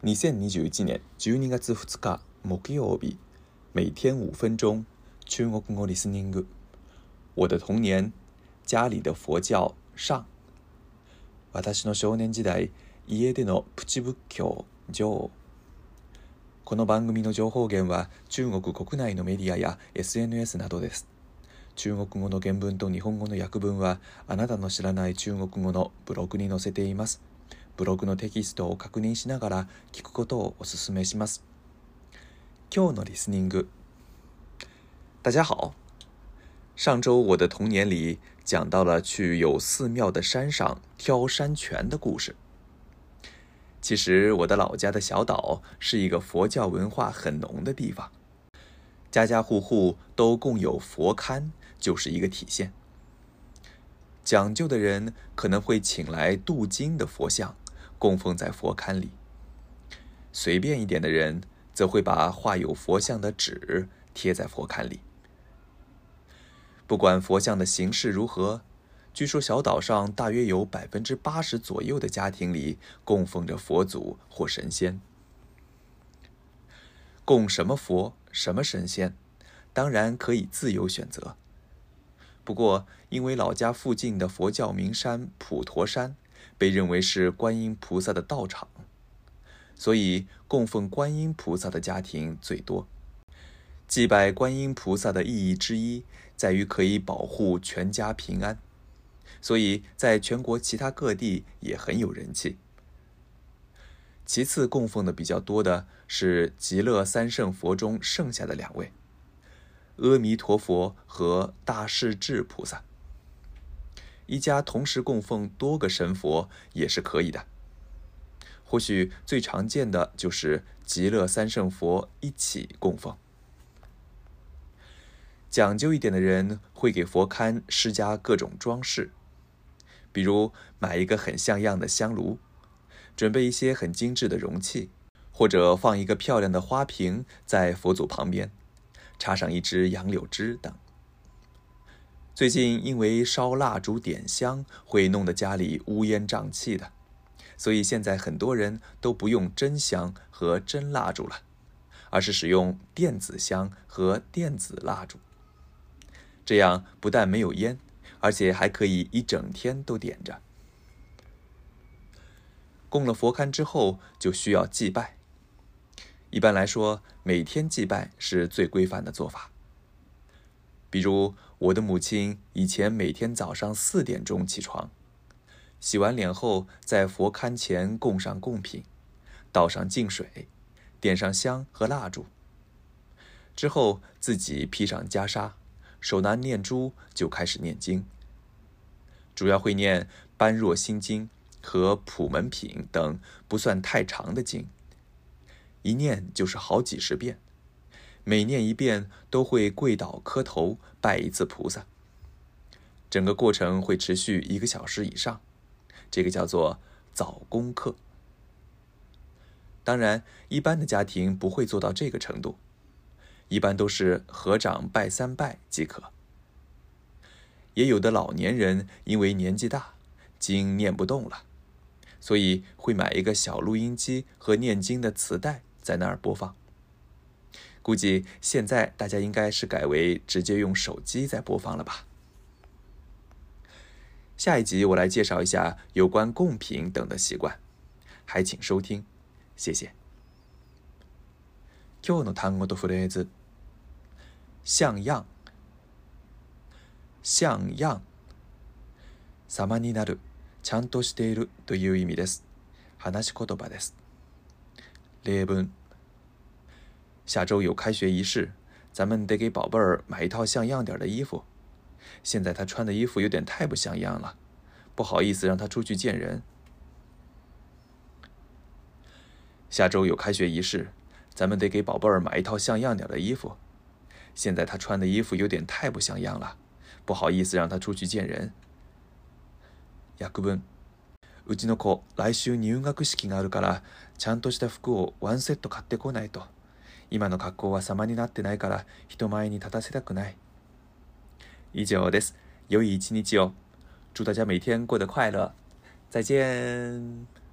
2021年12月2日木曜日，每天5分钟中国語リスニング。我的童年，家里的佛教上。私の少年時代、家でのプチ仏教上。この番組の情報源は中国国内のメディアや SNS などです。中国語の原文と日本語の訳文はあなたの知らない中国語のブログに載せています。ブログのテキストを確認しながら聞くことをお勧めします。今日のリスニング。大家好，上周我的童年里讲到了去有寺庙的山上挑山泉的故事。其实我的老家的小岛是一个佛教文化很浓的地方，家家户户都供有佛龛，就是一个体现。讲究的人可能会请来镀金的佛像供奉在佛龛里，随便一点的人则会把画有佛像的纸贴在佛龛里。不管佛像的形式如何，据说小岛上大约有80%左右的家庭里供奉着佛祖或神仙。供什么佛、什么神仙，当然可以自由选择。不过，因为老家附近的佛教名山普陀山被认为是观音菩萨的道场，所以供奉观音菩萨的家庭最多。祭拜观音菩萨的意义之一在于可以保护全家平安，所以在全国其他各地也很有人气。其次供奉的比较多的是极乐三圣佛中剩下的2位，阿弥陀佛和大势至菩萨。一家同时供奉多个神佛也是可以的。或许最常见的就是极乐三圣佛一起供奉。讲究一点的人会给佛龛施加各种装饰，比如买一个很像样的香炉，准备一些很精致的容器，或者放一个漂亮的花瓶在佛祖旁边，插上一支杨柳枝等。最近因为烧蜡烛点香会弄得家里乌烟瘴气的，所以现在很多人都不用真香和真蜡烛了，而是使用电子香和电子蜡烛。这样不但没有烟，而且还可以一整天都点着。供了佛龛之后就需要祭拜。一般来说，每天祭拜是最规范的做法。比如我的母亲以前每天早上4点钟起床，洗完脸后在佛龛前供上贡品，倒上净水，点上香和蜡烛，之后自己披上袈裟，手拿念珠就开始念经。主要会念般若心经和普门品等不算太长的经，一念就是好几十遍，每念一遍都会跪倒磕头拜一次菩萨。整个过程会持续1个小时以上，这个叫做早功课。当然，一般的家庭不会做到这个程度，一般都是合掌拜3拜即可。也有的老年人因为年纪大，经念不动了，所以会买一个小录音机和念经的磁带在那儿播放。估计现在大家应该是改为直接用手机在播放了吧。下一集我来介绍一下有关贡品等的习惯，还请收听，谢谢。今日の単語とフレーズ。像样。像样。様になる、ちゃんとしているという意味です。話し言葉です。例文。下周有开学仪式，咱们得给宝贝儿买一套像样点的衣服。现在他穿的衣服有点太不像样了，不好意思让他出去见人。下周有开学仪式，咱们得给宝贝儿买一套像样点的衣服。现在他穿的衣服有点太不像样了，不好意思让他出去见人。訳文。うちの子、来週入学式があるから、ちゃんとした服を1セット買ってこないと。今の格好は様になってないから人前に立たせたくない。以上です。良い一日を。祝大家每天过得快乐。再见。